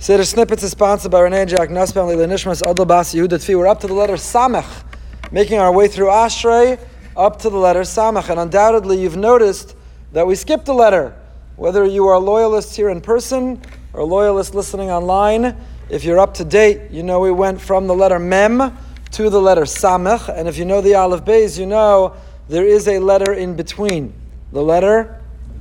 Seder Snippets is sponsored by Renee Jack Nussbaum, Leila Nishmas, Adel Bas, Yehuda Tfi. We're up to the letter Samech, making our way through Ashrei, up to the letter Samech. And undoubtedly you've noticed that we skipped a letter. Whether you are loyalists here in person or loyalists listening online, if you're up to date, you know we went from the letter Mem to the letter Samech. And if you know the Aleph Beis, you know there is a letter in between. The letter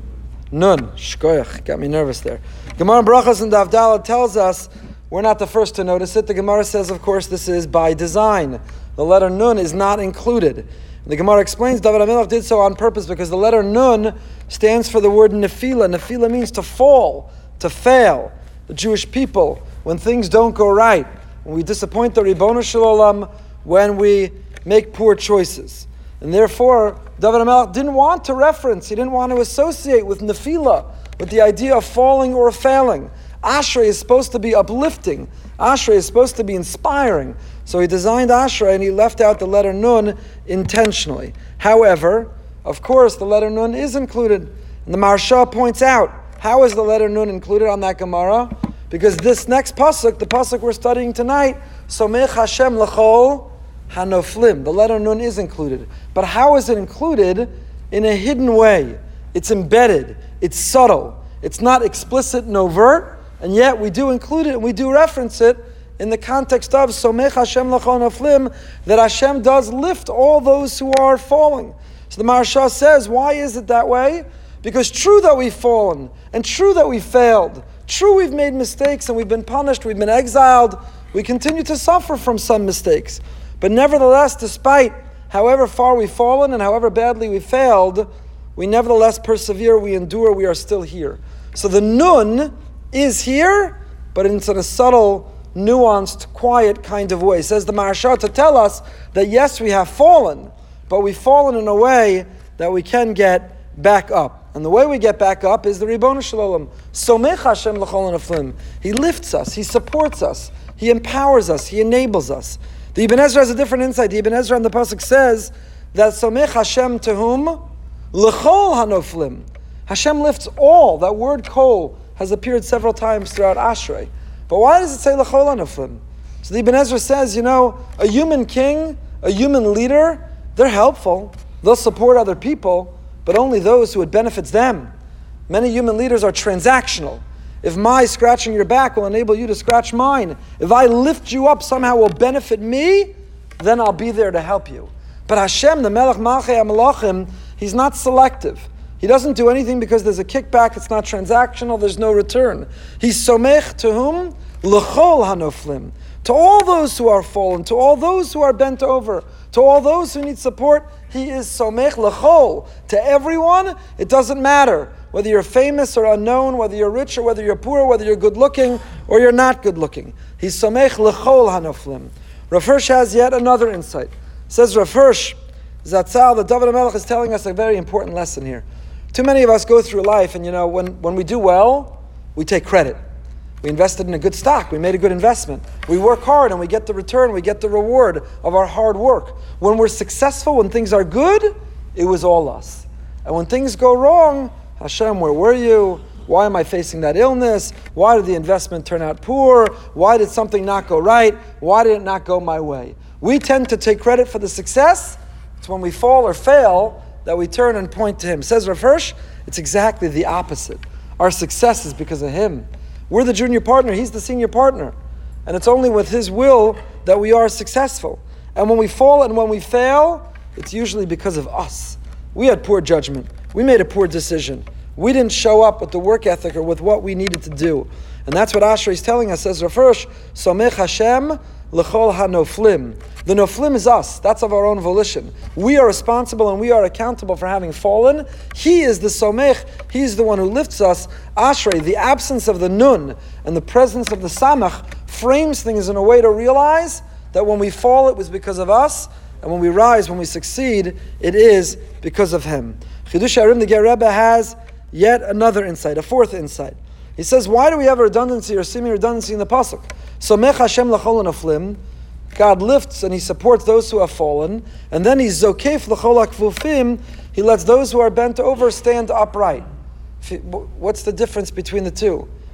Nun. Shkoyach. Got me nervous there. Gemara Brachos and Davdala tells us we're not the first to notice it. The Gemara says, of course, this is by design. The letter Nun is not included. The Gemara explains David HaMelech did so on purpose because the letter Nun stands for the word Nefila. Nefila means to fall, to fail. The Jewish people, when things don't go right, when we disappoint the Ribono Shel Olam, when we make poor choices. And therefore, David HaMelech didn't want to reference, he didn't want to associate with Nefila, with the idea of falling or failing. Ashrei is supposed to be uplifting. Ashrei is supposed to be inspiring. So he designed Ashrei and he left out the letter Nun intentionally. However, of course, the letter Nun is included. And the Maharsha points out, how is the letter Nun included on that Gemara? Because this next pasuk, the pasuk we're studying tonight, Somech Hashem L'chol Hanoflim. The letter Nun is included. But how is it included? In a hidden way. It's embedded. It's subtle. It's not explicit and overt, and yet we do include it and we do reference it in the context of Somech Hashem L'chol Hanoflim, that Hashem does lift all those who are falling. So the Maharsha says, why is it that way? Because true that we've fallen, and true that we failed, true we've made mistakes and we've been punished, we've been exiled, we continue to suffer from some mistakes. But nevertheless, despite however far we've fallen and however badly we failed, we nevertheless persevere, we endure, we are still here. So the Nun is here, but it's in a subtle, nuanced, quiet kind of way. Says the Maharsha to tell us that yes, we have fallen, but we've fallen in a way that we can get back up. And the way we get back up is the Ribono Shel Olam. Somech Hashem L'chol Hanoflim. He lifts us, He supports us, He empowers us, He enables us. The Ibn Ezra has a different insight. The Ibn Ezra in the pasuk says that Somech Hashem to whom? L'chol Hanoflim. Hashem lifts all. That word kol has appeared several times throughout Ashrei. But why does it say L'chol Hanoflim? So the Ibn Ezra says, a human king, a human leader, they're helpful. They'll support other people, but only those who it benefits them. Many human leaders are transactional. If my scratching your back will enable you to scratch mine, if I lift you up somehow will benefit me, then I'll be there to help you. But Hashem, the Melech Malchei HaMelachim, He's not selective. He doesn't do anything because there's a kickback, it's not transactional, there's no return. He's Somech to whom? L'chol Hanoflim. To all those who are fallen, to all those who are bent over, to all those who need support, He is Somech L'chol. To everyone, it doesn't matter whether you're famous or unknown, whether you're rich or whether you're poor, whether you're good looking or you're not good looking. He's Somech L'chol Hanoflim. Rav Hirsch has yet another insight. Says Rav Hirsch, Zatzal, the David HaMelech is telling us a very important lesson here. Too many of us go through life and when we do well, we take credit. We invested in a good stock, we made a good investment. We work hard and we get the return, we get the reward of our hard work. When we're successful, when things are good, it was all us. And when things go wrong, Hashem, where were you? Why am I facing that illness? Why did the investment turn out poor? Why did something not go right? Why did it not go my way? We tend to take credit for the success. It's when we fall or fail that we turn and point to Him. Says Rav Hirsch, it's exactly the opposite. Our success is because of Him. We're the junior partner, He's the senior partner. And it's only with His will that we are successful. And when we fall and when we fail, it's usually because of us. We had poor judgment. We made a poor decision. We didn't show up with the work ethic or with what we needed to do. And that's what Ashrei is telling us. Says Rav Hirsch, Somech Hashem L'chol Hanoflim. The Noflim is us. That's of our own volition. We are responsible and we are accountable for having fallen. He is the Somech. He's the one who lifts us. Ashrei, the absence of the Nun and the presence of the Samach frames things in a way to realize that when we fall, it was because of us. And when we rise, when we succeed, it is because of Him. Chidush HaRim, the Ger Rebbe, has yet another insight, a fourth insight. He says, why do we have a redundancy or seeming redundancy in the pasuk? Somech Hashem L'chol Hanoflim. God lifts and He supports those who have fallen, and then He's Zokef L'chol HaKfufim. He lets those who are bent over stand upright. What's the difference between the two?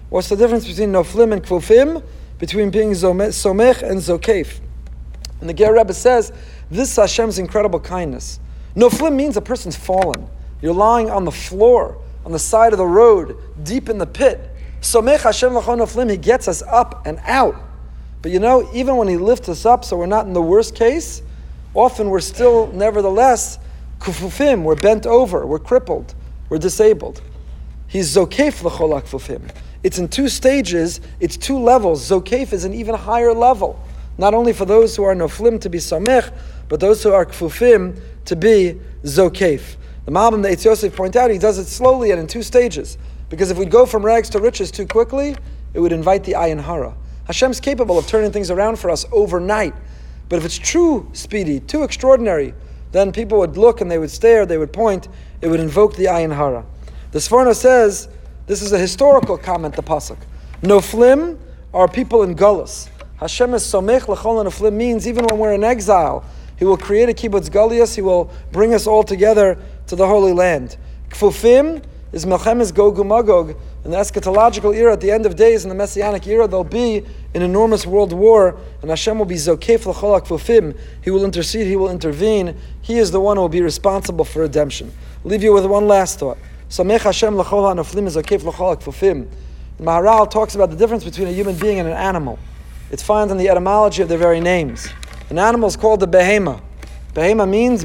What's the difference between noflim and kfufim? Between being somech and zokef. And the Ger Rebbe says, this is Hashem's incredible kindness. Noflim means a person's fallen. You're lying on the floor, on the side of the road, deep in the pit. Somech Hashem l'chol noflim, He gets us up and out. But even when He lifts us up, so we're not in the worst case, often we're still, nevertheless, kufufim, we're bent over, we're crippled, we're disabled. He's zokef l'chol kufufim. It's in two stages, it's two levels. Zokef is an even higher level. Not only for those who are noflim to be samech, but those who are kfufim to be zokef. The Malbim, the Eitz Yosef point out, he does it slowly and in two stages. Because if we'd go from rags to riches too quickly, it would invite the ayin hara. Hashem's capable of turning things around for us overnight. But if it's too speedy, too extraordinary, then people would look and they would stare, they would point, it would invoke the ayin hara. The Sforno says, this is a historical comment, the pasuk. Noflim are people in Gullus. Hashem is somech l'chol noflim means even when we're in exile, He will create a kibbutz galius, He will bring us all together to the Holy Land. Kfufim is Melchemes Gog uMagog. In the eschatological era, at the end of days, in the Messianic era, there'll be an enormous world war, and Hashem will be zokef l'chol kfufim. He will intercede, He will intervene. He is the one who will be responsible for redemption. I'll leave you with one last thought. Samech Hashem l'chol ha'noflim is zokef l'chol kfufim. Maharal talks about the difference between a human being and an animal. It's found in the etymology of their very names. An animal is called a behema. Behema means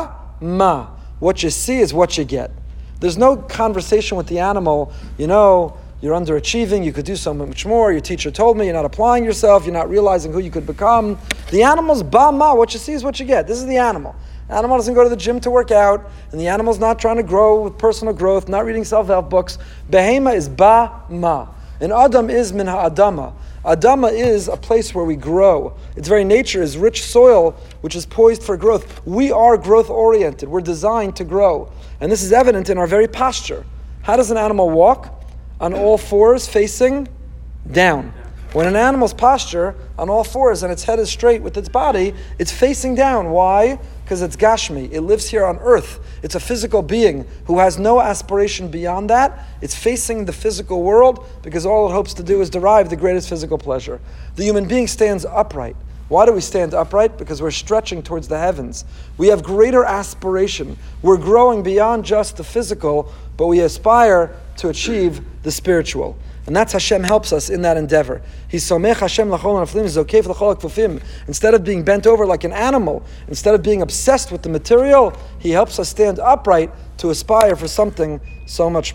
ba-ma. What you see is what you get. There's no conversation with the animal, you're underachieving, you could do so much more, your teacher told me, you're not applying yourself, you're not realizing who you could become. The animal's ba-ma, what you see is what you get. This is the animal. The animal doesn't go to the gym to work out, and the animal's not trying to grow with personal growth, not reading self-help books. Behema is ba-ma. And Adam is min ha'adama. Adama is a place where we grow. Its very nature is rich soil, which is poised for growth. We are growth-oriented. We're designed to grow. And this is evident in our very posture. How does an animal walk? On all fours, facing down. When an animal's posture, on all fours, and its head is straight with its body, it's facing down. Why? Because it's Gashmi. It lives here on earth. It's a physical being who has no aspiration beyond that. It's facing the physical world because all it hopes to do is derive the greatest physical pleasure. The human being stands upright. Why do we stand upright? Because we're stretching towards the heavens. We have greater aspiration. We're growing beyond just the physical, but we aspire to achieve the spiritual. And that's Hashem helps us in that endeavor. He's somech Hashem l'chol noflim, zokef l'chol kfufim. Instead of being bent over like an animal, instead of being obsessed with the material, He helps us stand upright to aspire for something so much more.